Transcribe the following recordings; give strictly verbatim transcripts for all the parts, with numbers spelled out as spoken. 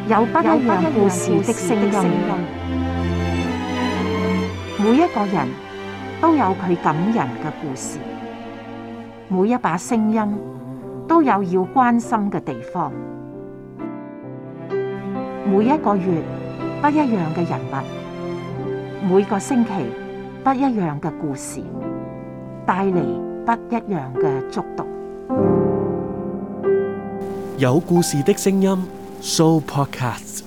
有不一樣故事的聲音，每一個人都有佢感人嘅故事，每一把聲音都有要關心嘅地方。每一個月不一樣嘅人物，每個星期不一樣嘅故事，帶嚟不一樣嘅觸動。 有故事的聲音 Sooo Podcast。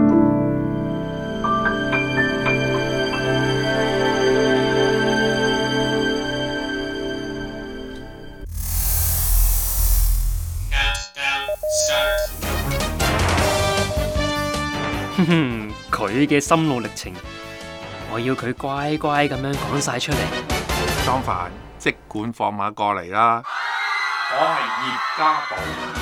哼哼，佢嘅心路歷程，我要佢乖乖咁樣講晒出嚟。 莊凡，即管放馬過嚟啦！我係葉家寶。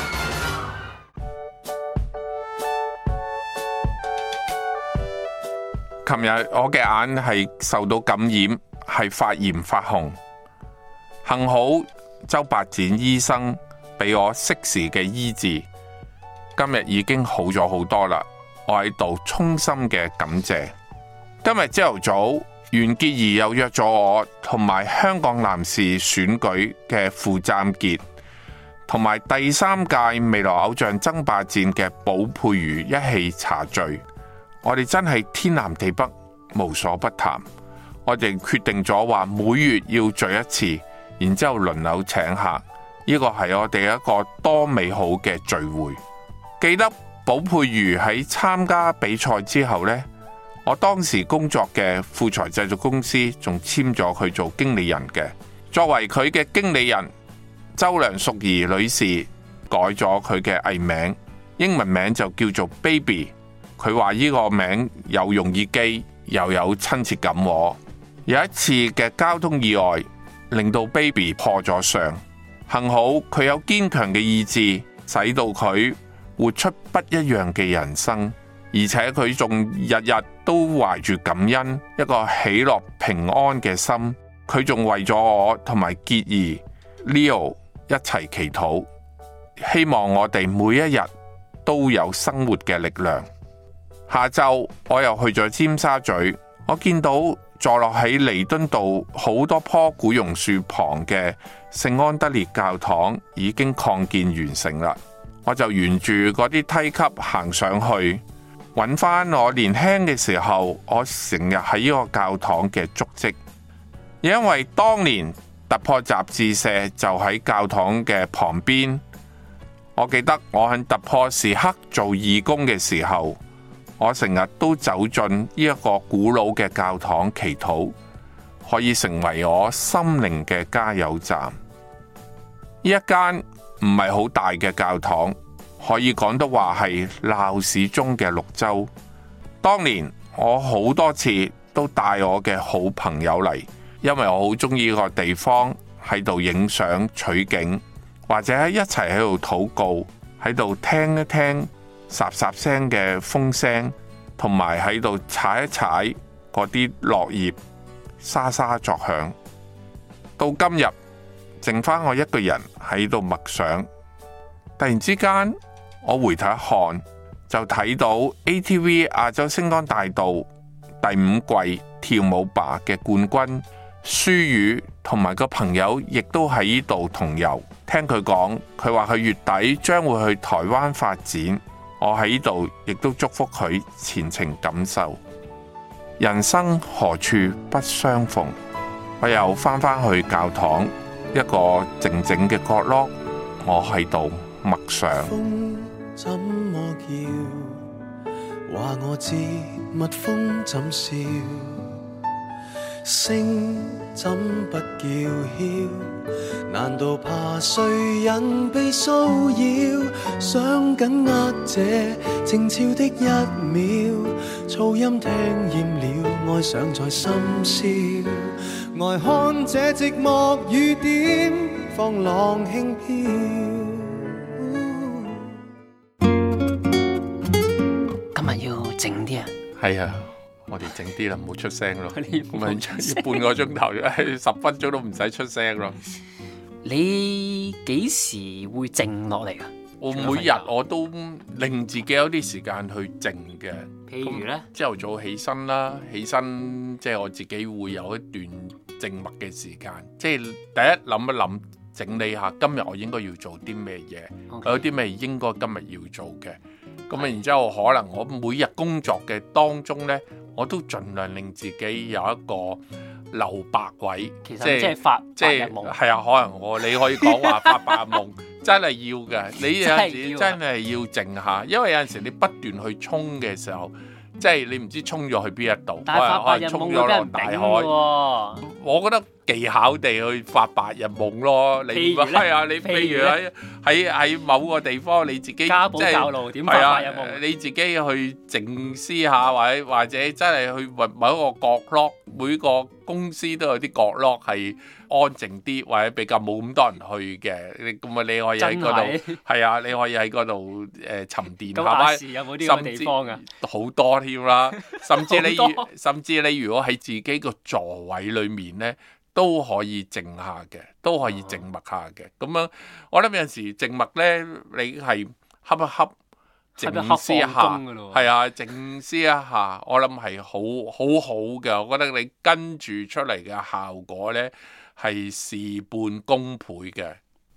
琴日我嘅眼係受到感染，係發炎發紅，幸好周伯展醫生俾我適時嘅醫治，今日已經好咗好多啦。我喺度衷心嘅感謝。今日朝頭早，袁潔儀又約咗我同埋香港男士選舉嘅傅湛傑，同埋第三屆未來偶像爭霸戰嘅寶佩瑜一起茶聚。我哋真係天南地北，無所不談。我哋決定咗話每月要聚一次，然之後輪流請客。呢個係我哋一個多美好嘅聚會。記得寶佩瑜喺參加比賽之後呢，我當時工作嘅富財製作公司仲簽咗佢做經理人嘅。作為佢嘅經理人，周梁淑怡女士改咗佢嘅藝名，英文名就叫做 Baby。佢話呢個名有容易記，又有親切感。有一次嘅交通意外令到 Baby 破咗相，幸好佢有堅強嘅意志，使到佢活出不一樣嘅人生，而且佢仲日日都懷住感恩，一個喜樂平安嘅心。佢仲為咗我同埋潔兒 Leo 一齊祈禱，希望我哋每一日都有生活嘅力量。下晝我又去咗尖沙咀，我見到坐落喺彌敦道好多棵古榕樹旁嘅聖安德烈教堂已經擴建完成啦。我就沿住嗰啲梯級行上去，揾翻我年輕嘅時候，我成日喺呢個教堂嘅足跡。因為當年突破雜誌社就喺教堂嘅旁邊，我記得我喺突破時刻做義工嘅時候，我成日都走進呢一個古老嘅教堂祈禱，可以成為我心靈嘅加油站。呢一間唔係好大嘅教堂，可以講得話係鬧市中嘅綠洲。當年我好多次都帶我嘅好朋友嚟，因為我好中意呢個地方，喺度影相取景，或者一齊喺度禱告，喺度聽一聽霎霎聲嘅風聲，同埋喺度踩一踩嗰啲落葉，沙沙作響。到今日剩翻我一個人喺度默想，突然之間我回頭一看，就睇到 A T V 亞洲星光大道第五季跳舞吧嘅冠軍舒雨同埋個朋友亦都喺呢度同遊。聽佢講，佢話佢月底將會去台灣發展。我喺呢度亦都祝福佢前程錦繡。人生何處不相逢，我又翻返去教堂一個靜靜嘅角落，我喺度默想。 風怎麼叫？話我知蜜蜂怎笑？聲怎不叫囂？難道怕誰人被騷擾？想緊握這靜悄的一秒，噪音聽厭了，愛上在深宵。呆看這寂寞雨點，放浪輕飄。 今日要靜啲啊！ 係啊，我哋靜啲啦，唔好出聲咯。 唔咪半個鐘頭，十分鐘都唔使出聲咯。 你幾時會靜落嚟啊？ 我每日我都令自己有啲時間去靜嘅。 譬如咧， 朝頭早起身啦，起身即係我自己會有一段靜默嘅時間，即係第一諗一諗，整理下今日我應該要做啲咩嘢，okay. 有啲咩應該今日要做嘅。咁啊，然之後可能我每日工作嘅當中呢，我都盡量令自己有一個留白位， 其實即係發白日夢。 係啊，可能我你可以講話發白日夢，真係要嘅。你有陣時真係要靜下，因為有陣時你不斷去衝嘅時候，即係你唔知衝咗去邊一度，可能可能衝咗落大海。我覺得技巧地去發白日夢咯。你係啊，你譬如喺喺喺某個地方，你自己家寶教路點發白日夢？ 你自己去靜思下，或者或者真係去揾某一個角落，每個公司都有啲角落係安靜啲，或者比較冇咁多人去嘅。咁啊，你可以喺嗰度，係啊，你可以喺嗰度誒沉澱下。 咁亞視有冇啲咁嘅地方啊？ 好多添啦，甚至你甚至你如果喺自己個座位裏面咧，都可以靜下嘅，都可以靜默下嘅。咁樣我諗有陣時靜默咧，你係恰一恰，靜思一下，係啊，靜思一下，我諗係好好好嘅。我覺得你跟住出嚟嘅效果咧係事半功倍嘅。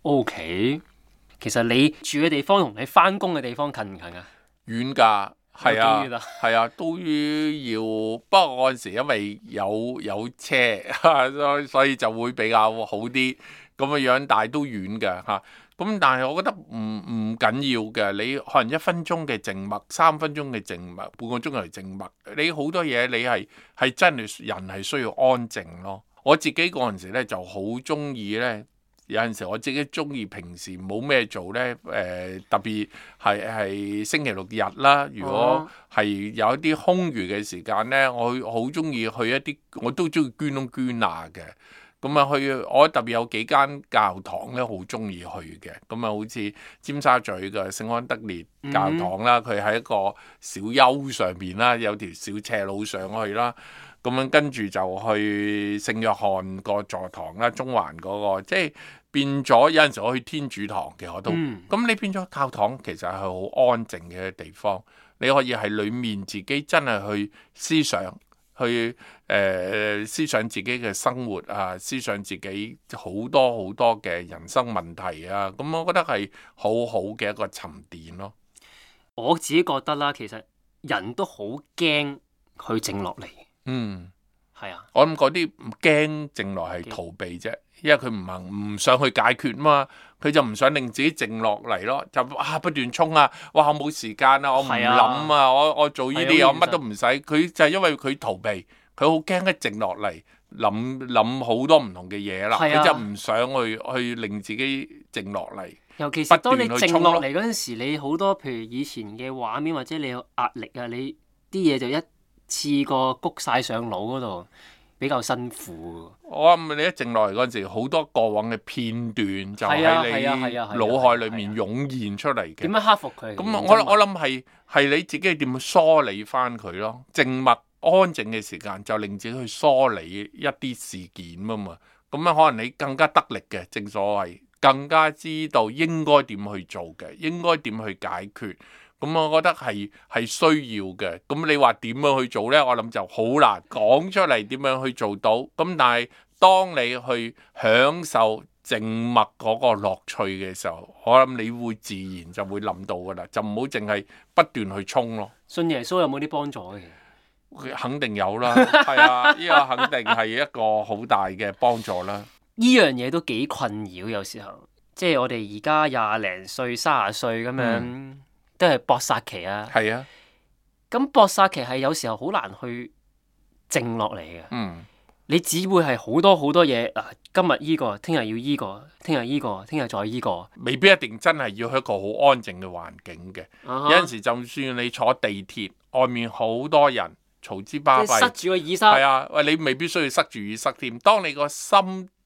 OK， 其實你住嘅地方同你翻工嘅地方近唔近啊？ 遠㗎。係啊，係啊，都要。不過嗰陣時因為有有車，所以就會比較好啲咁嘅樣，但係都遠嘅嚇。咁但係我覺得唔唔緊要嘅，你可能一分鐘嘅靜默，三分鐘嘅靜默，半個鐘頭靜默，你好多嘢你係係真係人係需要安靜咯。我自己嗰陣時咧就好中意咧。有陣時我自己中意平時冇咩做呢，誒、呃、特別係係星期六日啦。如果係有一啲空餘嘅時間呢，我好中意去一啲，我都中意捐窿捐罅嘅。咁啊去，我特別有幾間教堂咧，好中意去嘅。咁啊，好似尖沙咀嘅聖安德烈教堂啦，佢喺、嗯、一個小丘上邊啦，有條小斜路上去啦。咁樣跟住就去聖約翰個座堂啦，中環嗰、那個，即係變咗有陣時我去天主堂嘅我都，咁、嗯、你變咗教堂其實係好安靜嘅地方，你可以喺裡面自己真係去思想，去誒、呃、思想自己嘅生活啊，思想自己好多好多嘅人生問題啊，咁我覺得係好好嘅一個沉澱咯。 我自己覺得啦，其實人都好驚去靜落嚟。 嗯， 係啊， 我諗嗰啲唔驚靜落係逃避啫，因為佢唔行唔想去解決嘛，佢就唔想令自己靜落嚟咯，就啊不斷衝啊，哇我冇時間啊，我唔諗啊，啊我我做呢啲嘢我乜都唔使，佢就係因為佢逃避，佢好驚一靜落嚟諗諗好多唔同嘅嘢啦，佢、啊、就唔想去去令自己靜落嚟。 尤其是當你靜落嚟嗰陣時，你好多譬如以前嘅畫面或者你有壓力啊，你啲嘢就一次過谷晒上腦嗰度，比較辛苦。 我諗你一靜落嚟嗰陣時，好多過往嘅片段就喺你腦海裡面湧現出嚟嘅。點樣克服佢？ 咁我我諗係係你自己點樣梳理翻佢咯？靜默安靜嘅時間就令自己去梳理一啲事件啊嘛。咁樣可能你更加得力嘅，正所謂更加知道應該點去做嘅，應該點去解決。咁我覺得係係需要嘅。咁你話點樣去做呢？我諗就好難講出嚟點樣去做到。咁但係當你去享受靜默嗰個樂趣嘅時候，我諗你會自然就會諗到噶啦，就唔好淨係不斷去衝咯。 信耶穌有冇啲幫助嘅？ 肯定有啦，係啊，呢個肯定係一個好大嘅幫助啦。 呢樣嘢都幾困擾，有時候即係我哋而家廿零歲、三十歲咁樣。嗯都係搏殺期啊！ 係啊， 咁搏殺期係有時候好難去靜落嚟嘅。 嗯， 你只會係好多好多嘢啊！今日依個，聽日要依個，聽日依個，聽日再依個， 未必一定真係要一個好安靜嘅環境嘅。Uh-huh. 有陣時就算你坐地鐵，外面好多人嘈之巴閉， 塞住個耳塞。 係啊，喂，你未必需要塞住耳塞添。當你個心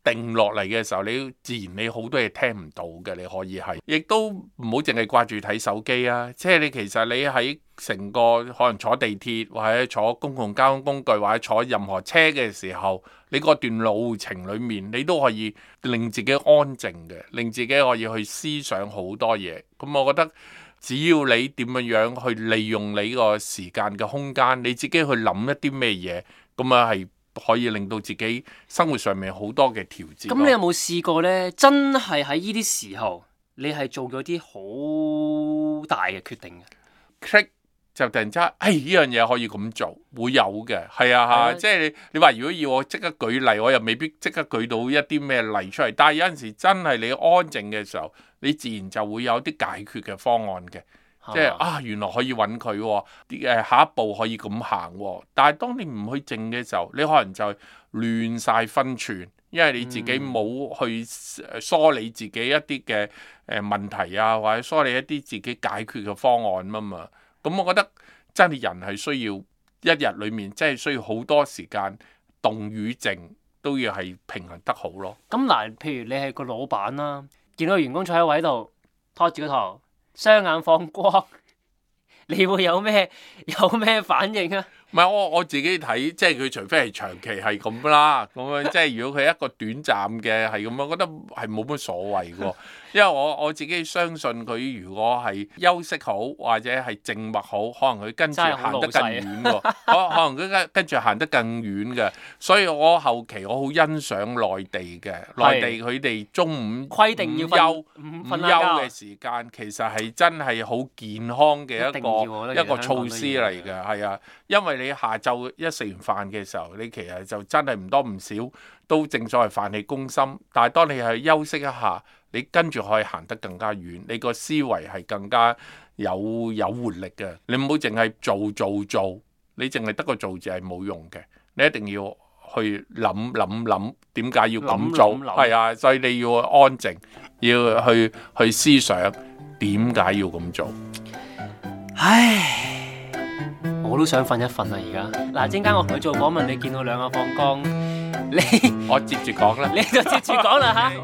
定落嚟嘅時候，你自然你好多嘢聽唔到嘅，你可以係，亦都唔好淨係掛住睇手機啊！即係你其實你喺成個可能坐地鐵或者坐公共交通工具或者坐任何車嘅時候，你嗰段路程裡面，你都可以令自己安靜嘅，令自己可以去思想好多嘢。咁我覺得只要你點樣樣去利用你個時間嘅空間，你自己去諗一啲咩嘢，咁啊係可以令到自己生活上面好多嘅調節。 咁你有冇試過呢？真係喺呢啲時候，你係做咗啲好大嘅決定嘅 ？Click 就突然之間，哎呢樣嘢可以咁做，會有嘅，係啊嚇，即係你你話如果要我即刻舉例，我又未必即刻舉到一啲咩例出嚟。但係有陣時真係你安靜嘅時候，你自然就會有啲解決嘅方案嘅，即係啊原來可以揾佢喎，誒下一步可以咁行喎。但係當你唔去靜嘅時候，你可能就亂晒分寸，因為你自己冇去梳理自己一啲嘅誒問題啊，或者梳理一啲自己解決嘅方案啊嘛。咁我覺得真係人係需要一日裏面，真係需要好多時間動與靜都要係平衡得好咯。 咁嗱，譬如你係個老闆啦，見到個員工坐喺位度拖住個頭，雙眼放光，你會有咩有咩反應啊？ 唔係我我自己睇，即係佢除非係長期係咁啦，咁樣即係如果佢一個短暫嘅係咁，我覺得係冇乜所謂喎。因為我我自己相信佢，如果係休息好或者係靜默好，可能佢跟住行得更遠喎。可可能佢跟跟住行得更遠嘅，所以我後期我好欣賞內地嘅，內地佢哋中午規定要休午瞓休嘅時間，其實係真係好健康嘅一個一個措施嚟嘅，係啊，因為你下晝一食完飯嘅時候，你其實就真係唔多唔少都正所謂飯氣攻心，但係當你係休息一下，你跟住可以行得更加遠，你個思維係更加有有活力嘅。你唔好淨係做做做，你淨係得個做字係冇用嘅，你一定要去諗諗諗點解要咁做，係啊，所以你要安靜，要去去思想點解要咁做。 唉。我都想瞓一瞓啊！而家嗱，陣間我同佢做訪問，你見到兩個放光，你我接住講啦， 你就接住講啦嚇。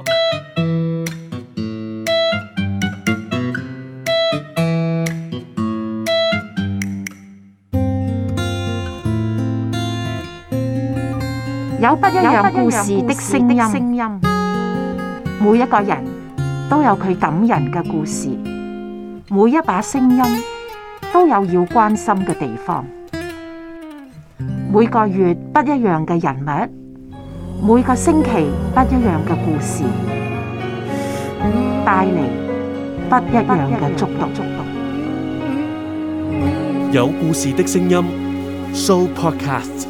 有不一樣故事的聲音，每一個人都有佢感人嘅故事，每一把聲音都有要關心嘅地方。每個月不一樣嘅人物，每個星期不一樣嘅故事，帶嚟不一樣嘅觸動。 有故事的聲音 ，Show Podcast。